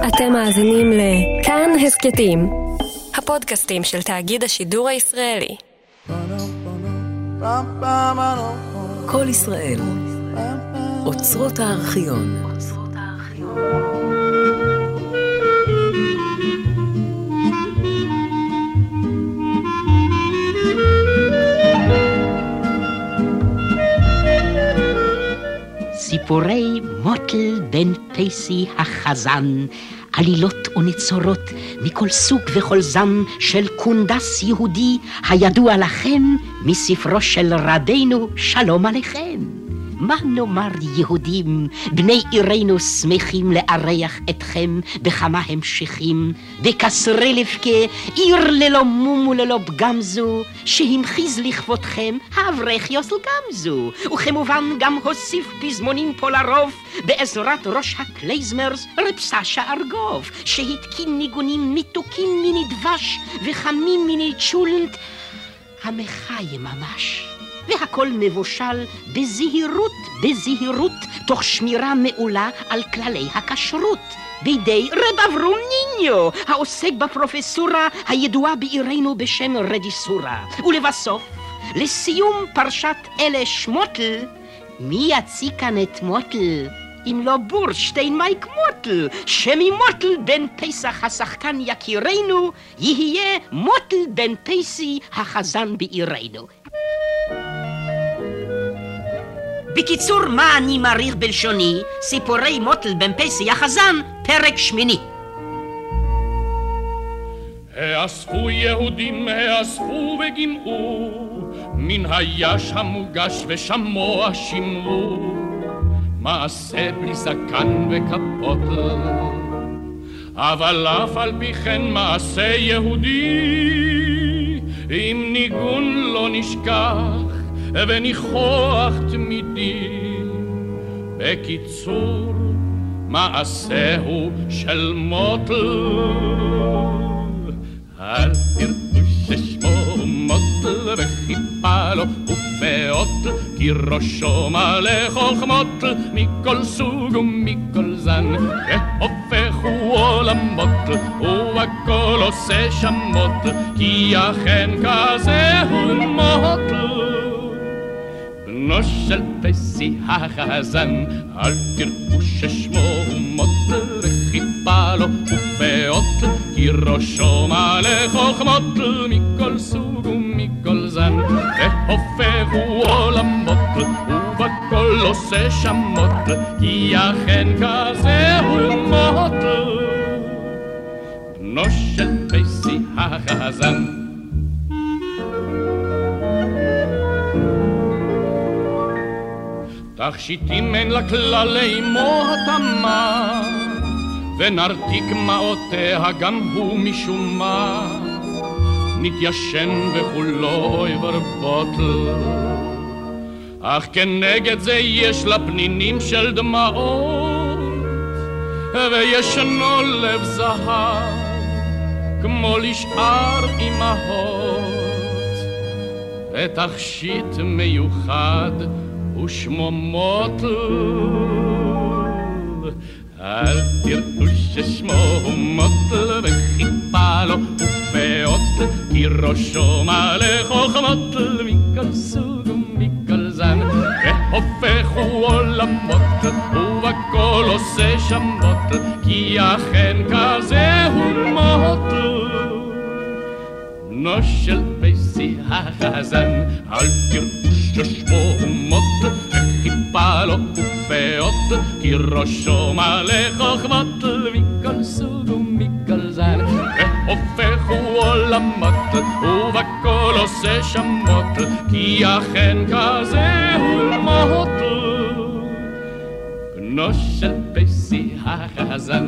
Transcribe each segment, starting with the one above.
אתם מאזינים לכאן הסקטים, הפודקאסטים של תאגיד השידור הישראלי. כל ישראל, אוצרות הארכיון. סיפורי מוטל בן פייסי החזן, עלילות ונצורות מכל סוג וכל זן של קונדס יהודי הידוע לכם מספרו של רדינו שלום עליכם. מה נאמר יהודים, בני עירנו שמחים לארח אתכם בכמה המשכים, בקסרי לבכה, עיר ללא מום וללא פגם זו, שהמחיז לכבודכם האברך יוסל גמזו, וכמובן גם הוסיף פזמונים פה לרוב, בעזרת ראש הקלייזמרס רב סשה ארגוב, שהתקין ניגונים מתוקים מיני דבש וחמים מיני צ'ולנט, המחי ממש. והכל מבושל בזהירות, תוך שמירה מעולה על כללי הכשרות, בידי רב אברום ניניו, העוסק בפרופסורה הידועה בעירנו בשם רדיסורה. ולבסוף, לסיום פרשת אלה שמוטל, מי יציא כאן את מוטל? אם לא בורשטיין מייק מוטל, שממוטל בן פסח השחקן יקירנו, יהיה מוטל בן פייסי החזן בעירנו. בקיצור, מה אני מעריך בלשוני? סיפורי מוטל בן פייסי החזן, פרק 8. האספו יהודים, האספו וגימאו, מן היש המוגש ושמוע שמרו, מעשה בלי זקן וכפות, אבל אף על פי כן מעשה יהודי, עם ניגון לא נשכח וניחוח תמידי. בקיצור, מעשהו של מוטל, אל תראו ששמו מוטל וחיפה לו ופאות, כי ראשו מלא חוכמות מכל סוג ומכל זן, והופכו עולמות והכל עושה שמות, כי אכן כזה הוא מוטל. בנו של פייסי החזן, אל תראו ששמו מוטל וחיפה לו ופאות, כי ראשו מלא חוכמות מכל סוג ומכל זן, והופכו עולמות ובכל עושה שמות, כי אכן כזה הוא מוטל. בנו של פייסי החזן. תכשיטים אין לה כללי מותמה, ונרתיק מעותיה גם הוא משום מה, נתיישן וכולו יברבוטל, אך כנגד זה יש לה פנינים של דמעות, וישנו לב זהב כמו לשאר אמהות, ותכשיט מיוחד ושמו מוטל. אל תראו ששמו מוטל וחיפה לו ופאות, כי ראשו מלא חוכמות מכל סוג ומכל זן, והופכו עולמות ובכל עושה שמות, כי אכן כזה הוא מוטל. בנו של פייסי החזן, אל תראו ששמו מוטל וחיפה לו ופאות, כי ראשו מלא חוכמות מכל סוג ומכל זן, והופכו עולמות ובכל עושה שמות, כי אכן כזה הוא מוטל. בנו של פייסי החזן.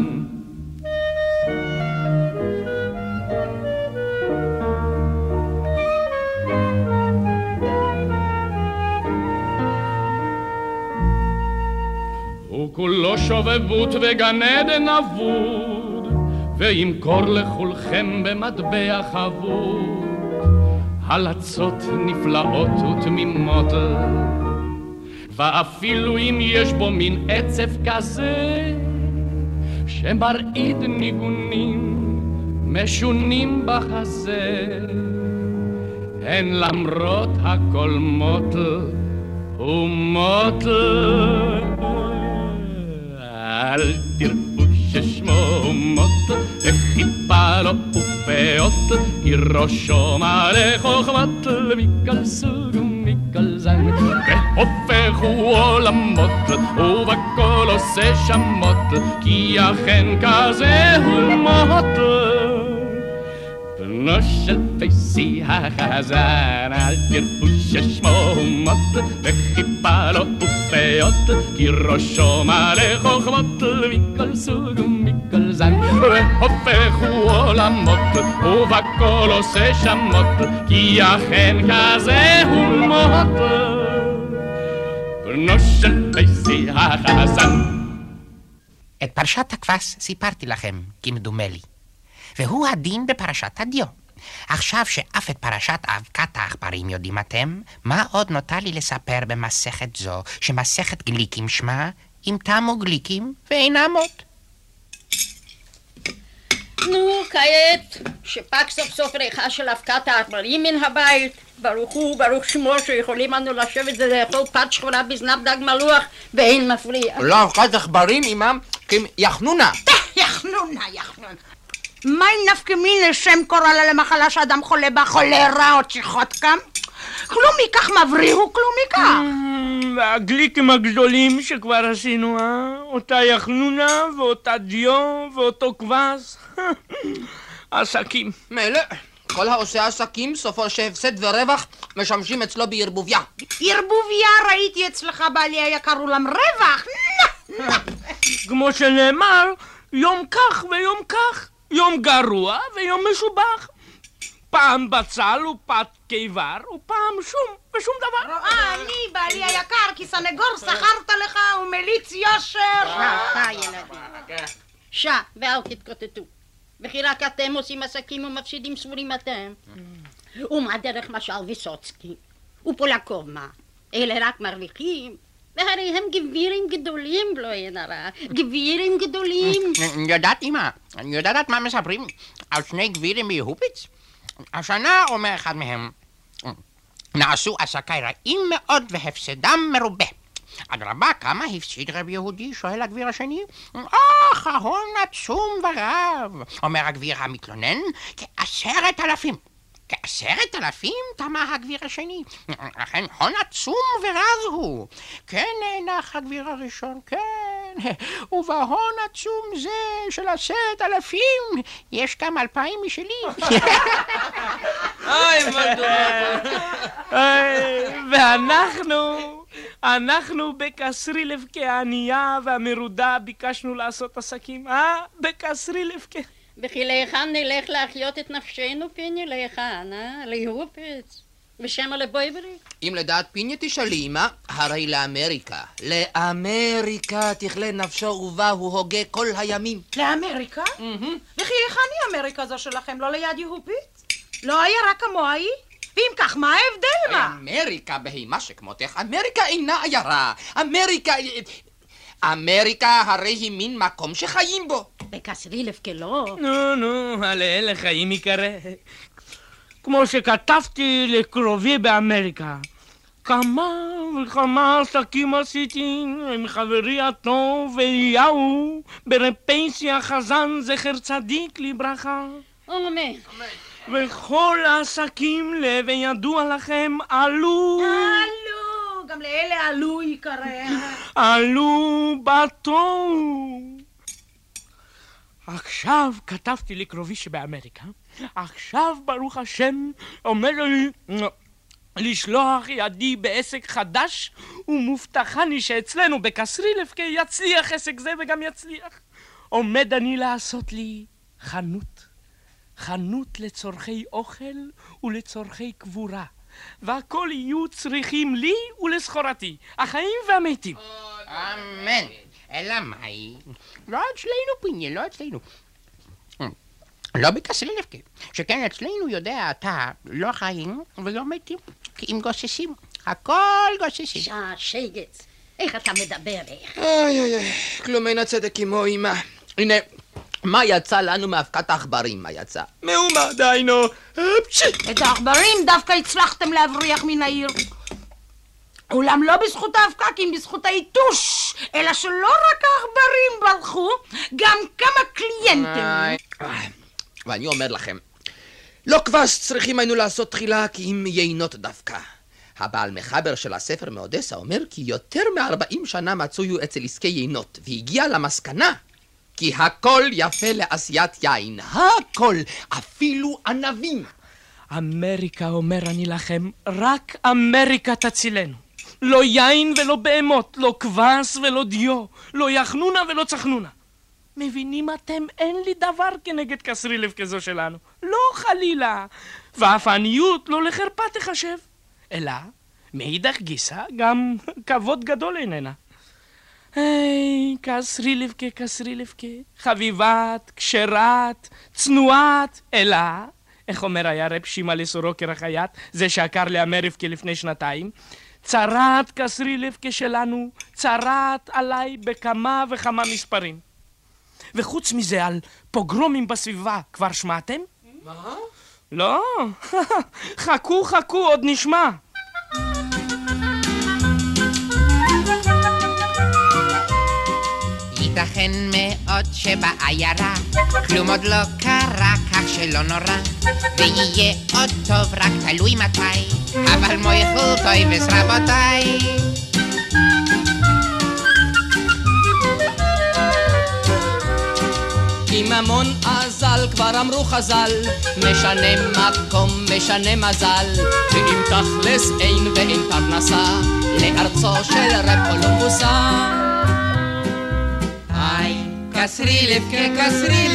כולו שובבות וגן עדן אבוד, וימכור לכולכם במטבע חבוד הלצות נפלאות ותמימות, ואפילו אם יש בו מין עצב כזה, שמרעיד ניגונים משונים בחזה, הן למרות הכל מוטל ומוטל. אל תראו ששמו מוטל וחיפה לו ופאות, כי ראשו מלא חוכמת מכל סוג ומכל זן, והופך הוא עולמות ובכל עושה שמות, כי אכן כזה הוא מוטל. בנו של פייסי החזן, אל תראו ששמו מוטל וחיפה לו ופאות, כי ראשו מלא חוכמות מכל סוג ומכל זן, והופך הוא עולמות ובכל עושה שמות, כי אכן כזה הוא מוטל. בנו של פייסי החזן. את פרשת הכבש סיפרתי לכם, כמדומה לי, והוא הדין בפרשת הדיו. עכשיו שאף את פרשת אבקת העכברים יודעים אתם, מה עוד נותר לי לספר במסכת זו, שמסכת גליקים שמה, אם תמו גליקים ואינם עוד. נו, כעת, שפג סוף סוף ריחה של אבקת העכברים מן הבית, ברוך הוא, ברוך שמו, שיכולים אנו לשבת ולאכול פת שחורה בזנב דג מלוח, ואין מפריע. לא אבקת עכברים, אמם, יחנונה. יחנונה. מה אם נפקא מינה שם קורא לה למחלה שאדם חולה בה, חולרה או צ'יחוטקה? כלום מכך מבריא הוא כלום מכך. והגליקים הגדולים שכבר עשינו, אותה יחנונה ואותה דיו ואותו כבש. עסקים. מילא, כל העושה עסקים סופו שהפסד ורווח משמשים אצלו בערבוביה. ערבוביה ראיתי אצלך בעלי היקר אולם רווח. כמו שנאמר, יום כך ויום כך, יום גרוע ויום משובח. פעם בצל ופת קיבר ופעם שום ושום דבר. אני בעלי היקר כי סנגור שכרת לך ומליץ יושר. ואל תתקוטטו, וכי רק אתם עושים עסקים ומפסידים סבורים אתם. ומה דרך משל ויסוצקי ופולקומה, אלה רק מרוויחים, והרי הם גבירים גדולים, לא אין הרע, גבירים גדולים. יודעת אמא, יודעת מה מספרים על שני גבירים מיהופיץ? השנה אומר אחד מהם, נעשו עסקי רעים מאוד והפסדם מרובה. אדרבה, כמה הפסיד רב יהודי? שואל הגביר השני. ההון עצום ורב. אומר הגביר המתלונן, 10,000. 10,000? תמה הגביר השני. לכן הון עצום ורב הוא. כן, נח הגביר הראשון, כן. ובהון עצום זה של 10,000 יש גם 2,000 משלי. ואנחנו בקסרילב כענייה והמרודה ביקשנו לעשות עסקים, בקסרילב כ... וכי להיכן נלך להחיות את נפשנו, פיני? להיכן, להופץ? ושמה לבויברי? אם לדעת פיני תשאלי, אמא, הרי לאמריקה. לאמריקה תכלה נפשו ובה הוא הוגה כל הימים. לאמריקה? וכי היכן היא אמריקה זו שלכם? לא ליד יהופית? לא היה רק כמוהי? ואם כך, מה ההבדל מה? אמריקה בהימה שכמותך, אמריקה אינה עיירה. אמריקה הרי היא מין מקום שחיים בו. בקסרילב כלא. נו, על אלה חיים יקרה. כמו שכתבתי לקרובי באמריקה, כמה וכמה עסקים עשיתי עם חברי הטוב אליהו ברב פייסי החזן זכר צדיק לברכה. אמן. וכל העסקים לב ידוע לכם עלו. גם לאלה עלו יקרה. עלו בתוהו. עכשיו כתבתי לקרובי שבאמריקה, עכשיו ברוך השם עומד לי לשלוח ידי בעסק חדש, ומובטחני שאצלנו בקסרילב יצליח עסק זה וגם יצליח. עומד אני לעשות לי חנות לצורכי אוכל ולצורכי קבורה, והכל יהיו צריכים לי ולסחורתי, החיים והמתים. אמן. אלא מהי? לא אצלנו פיני, לא אצלנו. לא בקסרילב, שכן אצלנו יודע אתה לא חיים ולא מתים, כי אם גוססים, הכל גוססים. שגץ, איך אתה מדבר איך? כלום אין הצדק כמו אמא. הנה, מה יצא לנו מאבקת העכברים? מה יצא? מהומה, דיינו. את העכברים דווקא הצלחתם להבריח מן העיר. אולם לא בזכות האבקה, כי אם בזכות העיתוש. אלא שלא רק העכברים ברחו, גם כמה קליינטים. ואני אומר לכם, לא כבש צריכים היינו לעשות תחילה, כי אם יינות דווקא. הבעל מחבר של הספר מאודסה אומר כי יותר מ-40 שנה מצויו אצל עסקי יינות, והגיע למסקנה כי הכל יפה לעשיית יין. הכל, אפילו ענבים. אמריקה, אומר אני לכם, רק אמריקה תצילנו. לא יין ולא בהמות, לא כבש ולא דיו, לא יחנונה ולא צחנונה. מבינים אתם? אין לי דבר כנגד קסרילב כזו שלנו. לא חלילה. ואף העניות לא לחרפה תחשב. אלא, מאידך גיסא, גם כבוד גדול איננה. היי, קסרילבקה, קסרילבקה, חביבת, כשרת, צנועת, אלא, איך אומר היה רב שימאל סורוקר החייט, זה שעקר לאמרבקה לפני 2 צרת קסרילבקה שלנו, צרת עליי בכמה וכמה מספרים. וחוץ מזה, על פוגרומים בסביבה, כבר שמעתם? מה? לא, חכו, עוד נשמע. ייתכן מאוד שבעיירה כלום עוד לא קרה, כך שלא נורא, ויהיה עוד טוב, רק תלוי מתי, אבל מויכל טויבס רבותיי. כי ממון אזל, כבר אמרו חז"ל, משנה מקום, משנה מזל, ואם תכלס אין ואין פרנסה, לארצו של רב קולומבוסה. היי, קסרילבקה,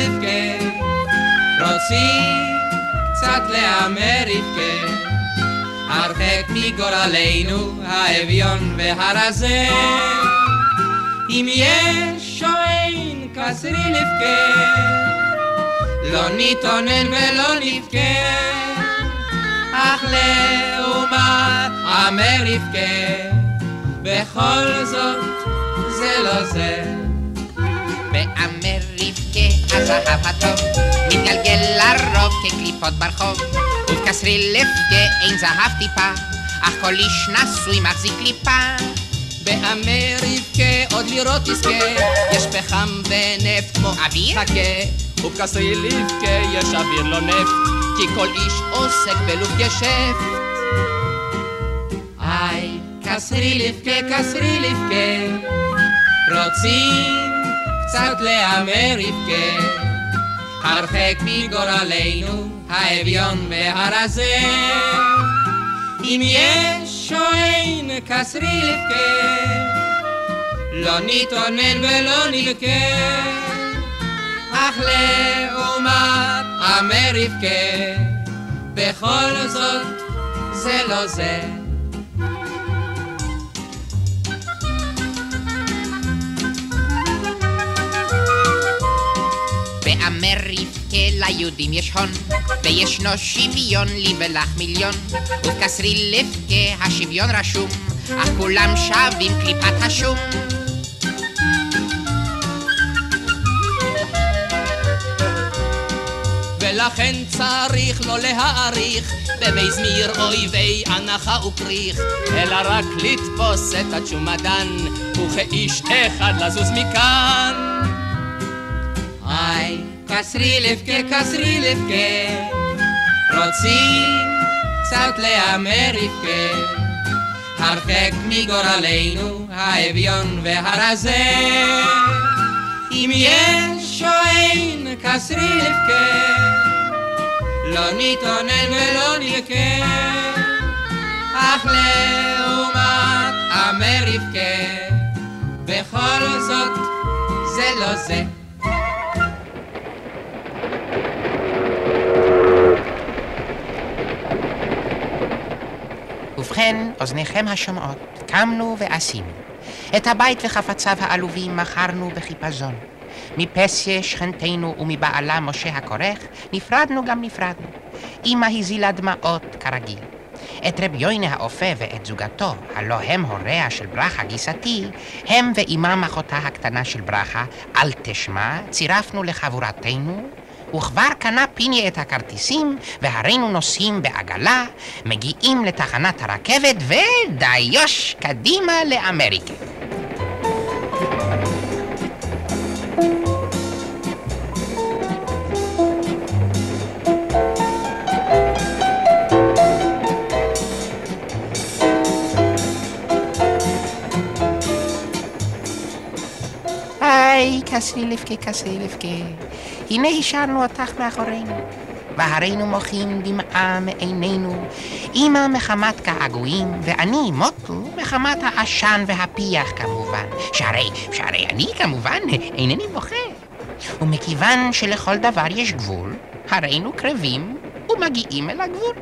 רוצים קצת לאמריקה, הרחק מגורלנו האביון והרזה. אם יש או אין קסרילבקה, לא נתאונן ולא נבכה, אך לעומת אמריקה, בכל זאת זה לא זה. באמריקה הזהב הטוב מתגלגל לרוב כקליפות ברחוב, ובקסרילבקה אין זהב טיפה, אך כל איש נשוי מחזיק קליפה. באמריקה עוד לראות תזכה, יש פחם ונפט כמו אוויר? חכה, ובקסרילבקה יש אוויר לא נפט, כי כל איש עוסק בלוב גשפט. היי, קסרילבקה, רוצים קצת לאמריקה, הרחק מגורלנו האביון והרזה. אם יש או אין קסרילבקה, לא נתאונן ולא נבכה, אך לעומת אמריקה, בכל זאת זה לא זה. באמריקה ליהודים יש הון, וישנו שוויון לי ולך מיליון, ובקסרילבקה השוויון רשום, אך כולם שווים קליפת השום. ולכן צריך לא להעריך במזמיר אויבי הנחה ופריך, אלא רק לתפוס את הצ'ומדן וכאיש אחד לזוז מכאן. היי, קסרילבקה, רוצים קצת לאמריקה, הרחק מגורלנו האביון והרזה. אם יש או אין קסרילבקה, לא נתאונן ולא נבכה, אך לעומת אמריקה, בכל זאת זה לא זה. ובכן, אוזניכם השומעות, קמנו ועשינו. את הבית וחפציו העלובים מכרנו בחיפזון. מפסיה שכנתנו ומבעלה משה הכורך נפרדנו גם נפרדנו. אמא הזילה דמעות כרגיל. את רב יוינה האופה ואת זוגתו, הלא הם הוריה של ברכה גיסתי, הם ואימם אחותה הקטנה של ברכה, אל תשמע, צירפנו לחבורתנו, וכבר קנה פיני את הכרטיסים, והרינו נוסעים בעגלה, מגיעים לתחנת הרכבת, ודיוש קדימה לאמריקה. היי, כסילבקה, הנה השארנו אותך מאחורינו, והרינו מוחים דמעה מעינינו, אמא מחמת געגועים, ואני מוטו מחמת העשן והפיח כמובן, שהרי אני כמובן אינני בוכה. ומכיוון שלכל דבר יש גבול, הרינו קרבים ומגיעים אל הגבול.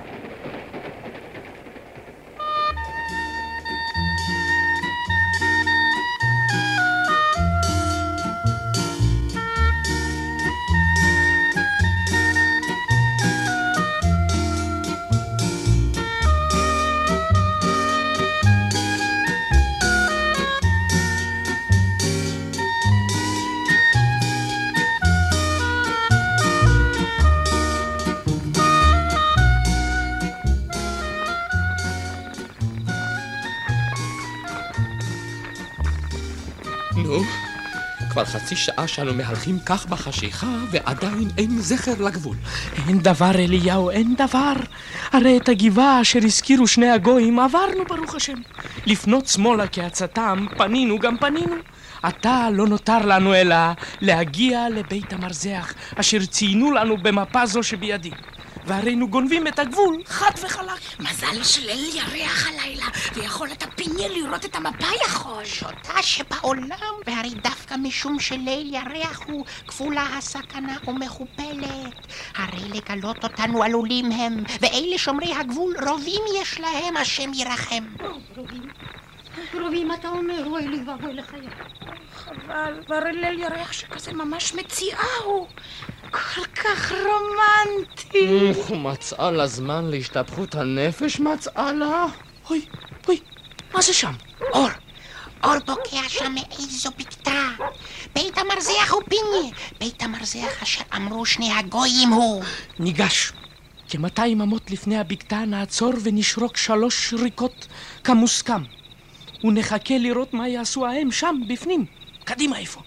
נו, כבר חצי שעה שאנו מהלכים כך בחשיכה, ועדיין אין זכר לגבול. אין דבר, אליהו, אין דבר. הרי את הגבעה אשר הזכירו שני הגויים עברנו, ברוך השם. לפנות שמאלה כעצתם, פנינו גם פנינו. עתה לא נותר לנו אלא להגיע לבית המרזח, אשר ציינו לנו במפה זו שבידי. והרינו גונבים את הגבול חד וחלק. מזל שליל ירח הלילה, ויכול את הפיני לראות את המפה יכול. שוטה שבעולם, והרי דווקא משום שליל ירח הוא כפולה הסכנה ומכופלת. הרי לגלות אותנו עלולים הם, ואלה שומרי הגבול רובים יש להם, השם ירחם. רובים אתה אומר, אוי לי ואבוי לחיי. חבל, והרי ליל ירח שכזה ממש מציאה הוא. כל כך רומנטי. מצאה לה זמן להשתפכות הנפש, מצאה לה. אוי, מה זה שם? אור בוקע שם מאיזו בקתה. בית המרזח הוא פיני, בית המרזח אשר אמרו שני הגויים הוא. ניגש. כ200 אמות לפני הבקתה נעצור ונשרוק 3 שריקות כמוסכם. ונחכה לראות מה יעשו ההם שם בפנים. קדימה איפה?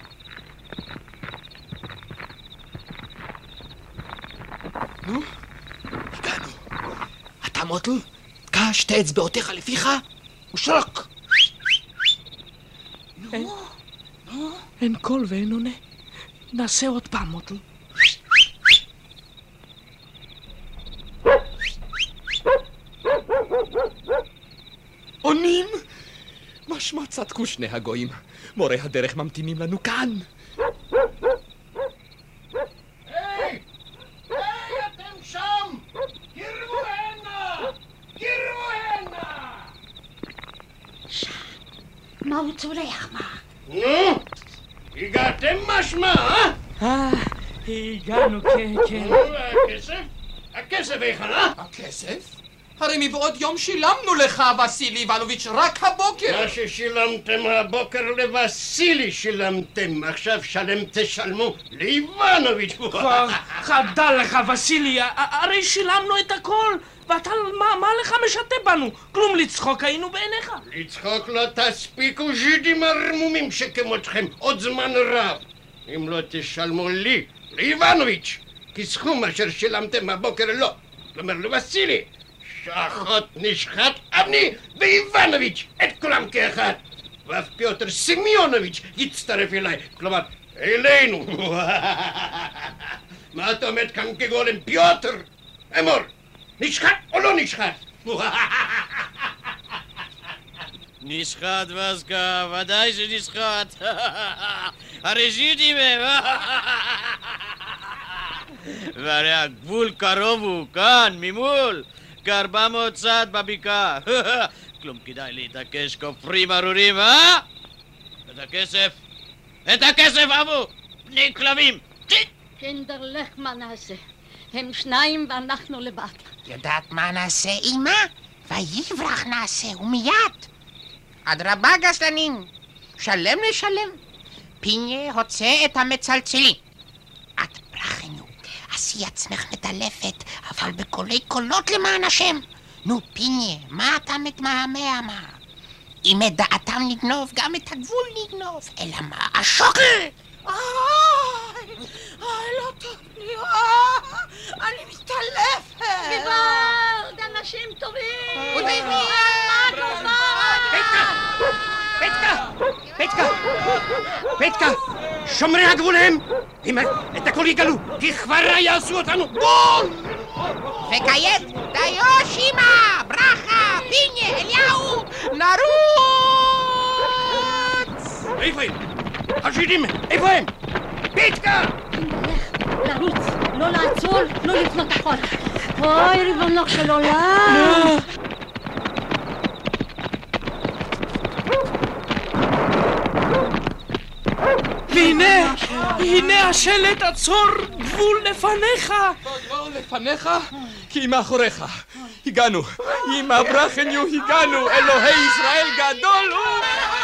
נו, הגענו. אתה מוטל, תקע 2 אצבעותיך לפיך ושרוק. אין קול ואין עונה. נעשה עוד פעם, מוטל. עונים? משמע צדקו שני הגויים. מורי הדרך ממתינים לנו כאן. היי, אתם שם! קרבו הנה! מה הוא צורח, מה? נו, הגעתם משמע, הגענו, כן. הכסף היכן? הכסף? הרי מבעוד יום שילמנו לך, וסילי איבנוביץ', רק הבוקר. מה ששילמתם הבוקר לווסילי שילמתם, עכשיו תשלמו לאיבנוביץ'. חדל לך, וסילי, הרי שילמנו את הכל, ואתה, מה לך משתה בנו? כלום לצחוק היינו בעיניך. לצחוק לא תספיקו ז'ידים הרמומים שכמותכם עוד זמן רב. אם לא תשלמו לי, לאיבנוביץ', כי סכום אשר שילמתם הבוקר לא. כלומר לווסילי. שחוט נשחט אבני ואיבנוביץ', את כולם כאחד. ואף פיוטר סמיונוביץ' יצטרף אליי, כלומר אלינו. מה אתה עומד כאן כגולם, פיוטר? אמור, נשחט או לא נשחט? נשחט וסקה, ודאי שנשחט. הרי ז'ידים הם. והרי הגבול קרוב הוא, כאן, ממול. כ400 צעד בבקעה. כלום כדאי להתעקש כופרים ארורים, את הכסף אבו! בני כלבים! קנדר לך מה נעשה? הם שניים ואנחנו לבד. יודעת מה נעשה, אמא? ויברח נעשה, ומיד. אדרבה גסלנים, שלם לשלם. פיניה הוצא את המצלצלים. את ברחנו, עשי עצמך מדלפת, אבל בקולי קולות למען השם. נו פיניה, מה אתה מתמהמה? מה? אם את דעתם נגנוב, גם את הגבול נגנוב. אלא מה? השוקל! לא טוב לי, אני מתעלפת. גוואלד, אנשים טובים. פטקה! שומרי הגבול הם! אם את הכל יגלו, כי כבר יעשו אותנו בול! וכעת, דיו שימה, ברכה, פיניה, אליהו, נרוץ! איפה הם? השדים, איפה הם? פטקה! לרוץ, לא לעצור, לא לפנות אחורה. אוי, ריבונו של עולם! והנה השלט, עצור, גבול לפניך. לא לפניך, כי מאחוריך. הגענו, עם ברחנו הגענו, אלוהי ישראל גדול הוא.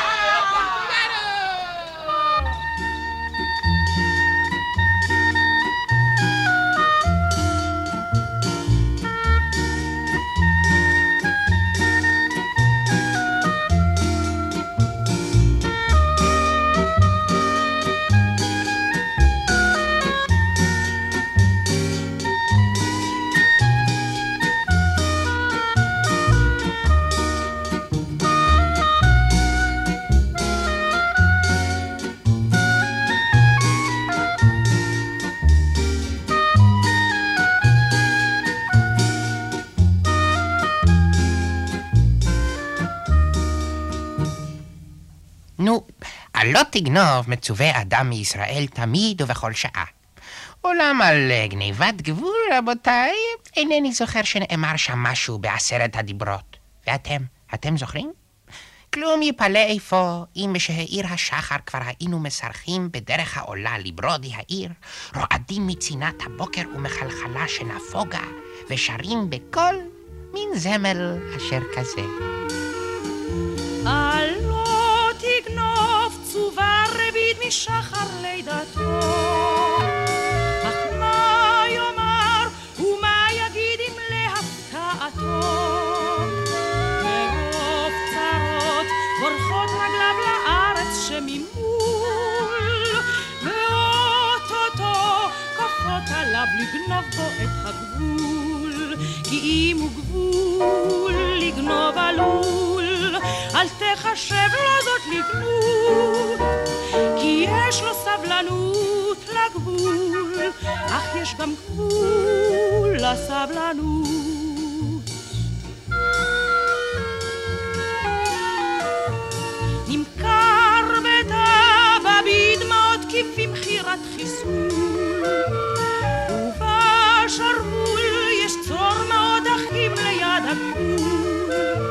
לא תגנוב מצווה אדם מישראל תמיד ובכל שעה. אולם על גניבת גבול, רבותיי, אינני זוכר שנאמר שם משהו ב10 הדיברות. ואתם זוכרים? כלום יפלא איפה, אם משהעיר השחר כבר היינו מסרחים בדרך העולה לברודי העיר, רועדים מצינת הבוקר ומחלחלה שנפוגה, ושרים בקול מין זמל אשר כזה. לא תגנוב צובה רבית משחר לידתו, אך מה יאמר ומה יגיד אם להפתעתו, מרוב צרות בורחות רגליו לארץ שממול, ואוטוטו כפות עליו לגנוב בו את הגבול, כי אם הוא גבול לגנוב עלול, אל תחשב לו זאת לגנות, כי יש לו סבלנות לגבול, אך יש גם גבול לסבלנות. נמכר בטבע בדמעות כבמכירת חיסול, ובשרוול יש צרור מאוד אחים ליד הגבול,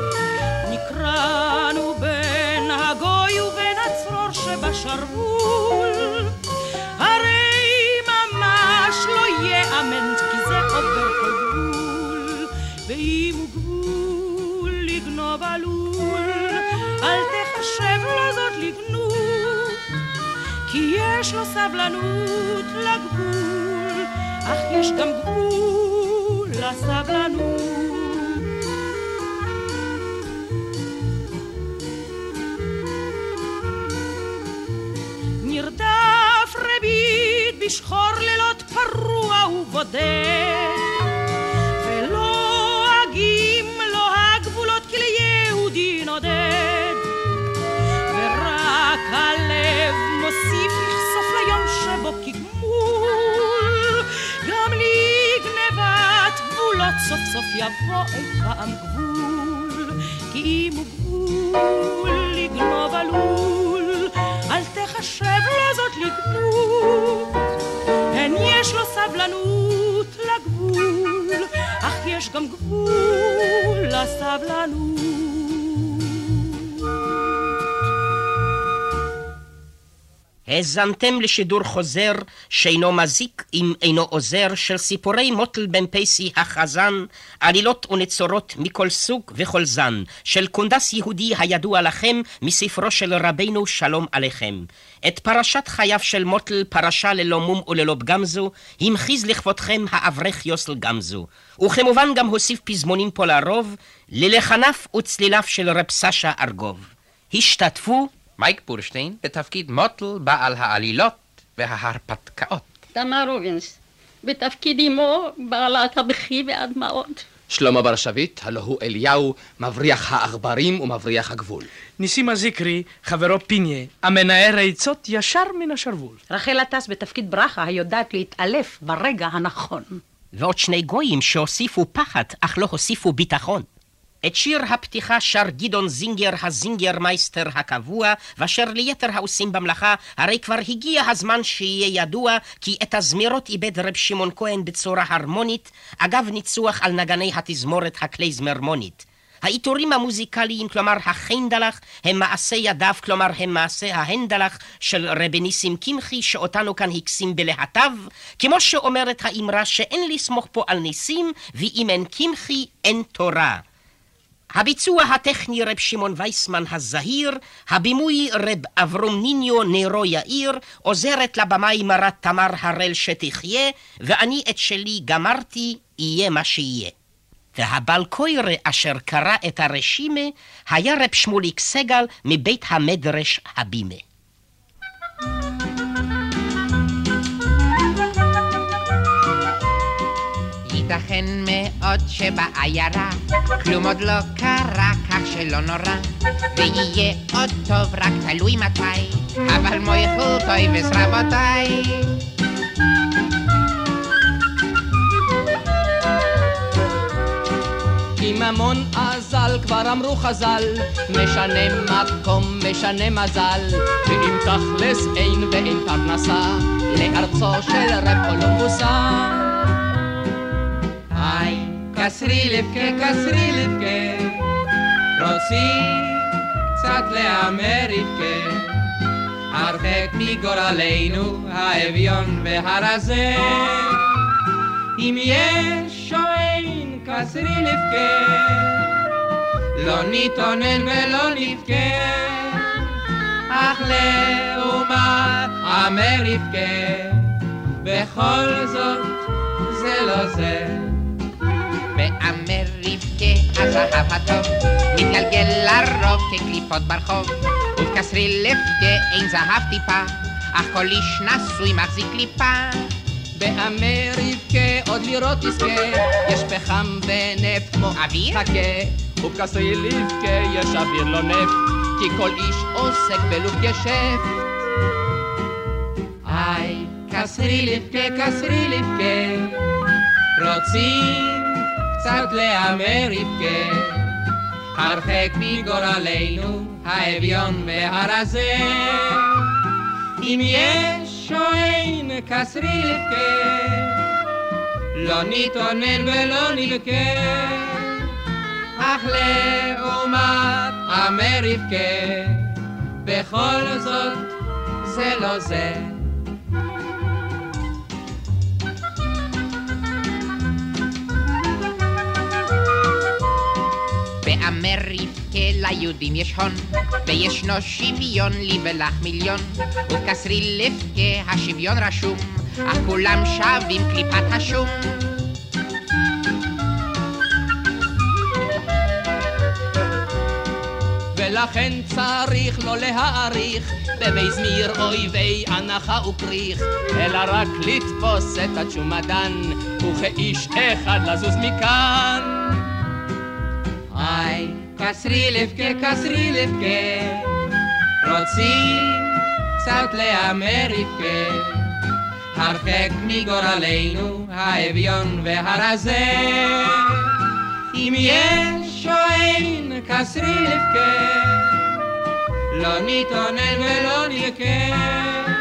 נקראנו בין הגוי ובין הצרור שבשרוול, הרי ממש לא יאמן כי זה עובר כל גבול, ואם הוא גבול לגנוב עלול, אל תחשב לו זאת לגנות, כי יש לו סבלנות לגבול, אך יש גם גבול לסבלנות. נרדף רבית בשחור לילות פרוע ובודד, ולא אגים לו הגבולות כי ליהודי נודד, ורק הלב מוסיף לחשוף ליום שבו כגמול, גם לגנבת גבולות סוף סוף יבוא אי פעם גבול, כי אם הוא גבול לגנוב עלול, אל תחשב לו זאת לגנות, הן יש לו סבלנות לגבול, אך יש גם גבול לסבלנות. האזנתם לשידור חוזר שאינו מזיק אם אינו עוזר של סיפורי מוטל בן פייסי החזן, עלילות ונצורות מכל סוג וכל זן, של קונדס יהודי הידוע לכם מספרו של רבינו שלום עליכם. את פרשת חייו של מוטל, פרשה ללא מום וללא פגמזו, המחיז לכבודכם האברך יוסל גמזו. וכמובן גם הוסיף פזמונים פה לרוב, ללחניו וצליליו של רב סשה ארגוב. השתתפו מייק בורשטיין בתפקיד מוטל בעל העלילות וההרפתקאות. תמר רובינס בתפקיד אמו בעלת הבכי והדמעות. שלמה בר שביט, הלא הוא אליהו, מבריח העכברים ומבריח הגבול. ניסים הזיקרי, חברו פיניה, המנער העצות ישר מן השרוול. רחל עטס בתפקיד ברכה, היודעת להתעלף ברגע הנכון. ועוד שני גויים שהוסיפו פחד, אך לא הוסיפו ביטחון. את שיר הפתיחה שר גדעון זינגר, הזינגר מייסטר הקבוע, ואשר ליתר העושים במלאכה, הרי כבר הגיע הזמן שיהיה ידוע, כי את הזמירות איבד רב שמעון כהן בצורה הרמונית, אגב ניצוח על נגני התזמורת הקלייזמרמונית. העיטורים המוזיקליים, כלומר החיינדלח, הם מעשה ידיו, כלומר הם מעשה ההנדלח של רבי ניסים קמחי, שאותנו כאן הקסים בלהטב, כמו שאומרת האמרה שאין לסמוך פה על ניסים, ואם אין קמחי אין תורה. הביצוע הטכני רב שמעון וייסמן הזהיר, הבימוי רב אברום ניניו נרו יאיר, עוזרת לבמאי מרת תמר הראל שתחיה, ואני את שלי גמרתי, יהיה מה שיהיה. והבל קוירה אשר קרא את הרשימה, היה רב שמוליק סגל מבית המדרש הבימה. ייתכן מאוד שבעיירה כלום עוד לא קרה, כך שלא נורא, ויהיה עוד טוב, רק תלוי מתי, אבל מויכו טויבס רבותיי. כי ממון אזל, כבר אמרו חז"ל, משנה מקום, משנה מזל, ואם תכלס אין ואין פרנסה, לארצו של רב קולומבוסה. היי, קסרי לבכה, רוצים קצת להמר לבכה, הרחק מגורלנו האביון והרזה, אם יש או אין קסרי לבכה, לא נתאונן ולא נבכה, אך לעומת אמר לבכה, בכל זאת זה לא זה. באמר רבקה הזהב הטוב מתגלגל לרוב כקליפות ברחוב, ובקסרי לבכה אין זהב טיפה, אך כל איש נשוי מחזיק קליפה. באמר רבקה עוד לראות תזכה, יש פחם ונפט כמו אוויר, חכה, ובקסרי לבכה יש אוויר לא נפט, כי כל איש עוסק בלוב גשפט. היי, קסרי לבכה, רוצים קצת להמר לבכה, הרחק מגורלנו האביון והרזה, אם יש או אין קסרי לבכה, לא נתאונן ולא נבכה, אך לעומת אמר לבכה, בכל זאת זה לא זה. באמר רבקה ליהודים יש הון, וישנו שוויון לי ולך מיליון, ובקסרי לבכה השוויון רשום, אך כולם שווים קליפת השום. ולכן צריך לא להעריך במזמיר אויבי הנחה וקריך, אלא רק לתפוס את התשומדן, וכאיש אחד לזוז מכאן. היי, קסרי לבכה, רוצים קצת להמר לבכה, הרחק מגורלנו האביון והרזה, אם יש או אין קסרי לבכה, לא נתאונן ולא נבכה,